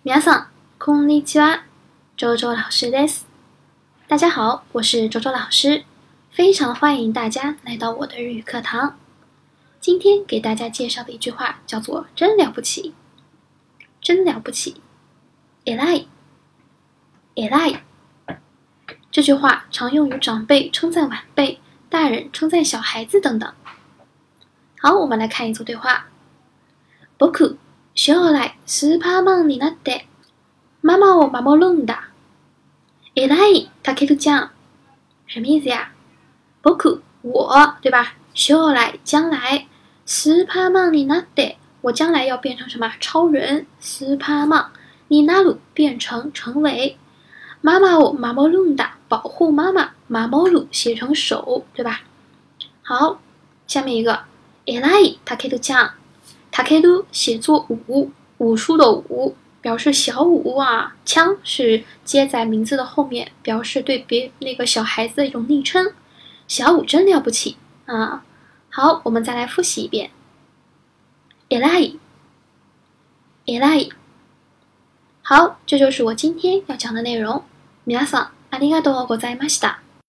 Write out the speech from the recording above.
皆さん、こんにちは。周周老师です。大家好，我是周周老师，非常欢迎大家来到我的日语课堂。今天给大家介绍的一句话叫做“真了不起”，真了不起。偉い，偉い。这句话常用于长辈称赞晚辈，大人称赞小孩子等等。好，我们来看一组对话。僕、将来スーパーマンになって妈妈を守るんだ。偉い、たけるちゃん。什么意思呀？僕、我，对吧？将来，将来。スーパーマンになって，我将来要变成什么？超人。スーパーマン。になる，变成，成为。妈妈を守るんだ，保护妈妈。守る写成手，对吧？好，下面一个。偉い、たけるちゃん。たける写作武，武术的武。表示小武啊，枪是接在名字的后面，表示对那个小孩子的一种昵称。小武真了不起啊！好，我们再来复习一遍。偉い，偉い。好，这就是我今天要讲的内容。皆さんありがとうございました。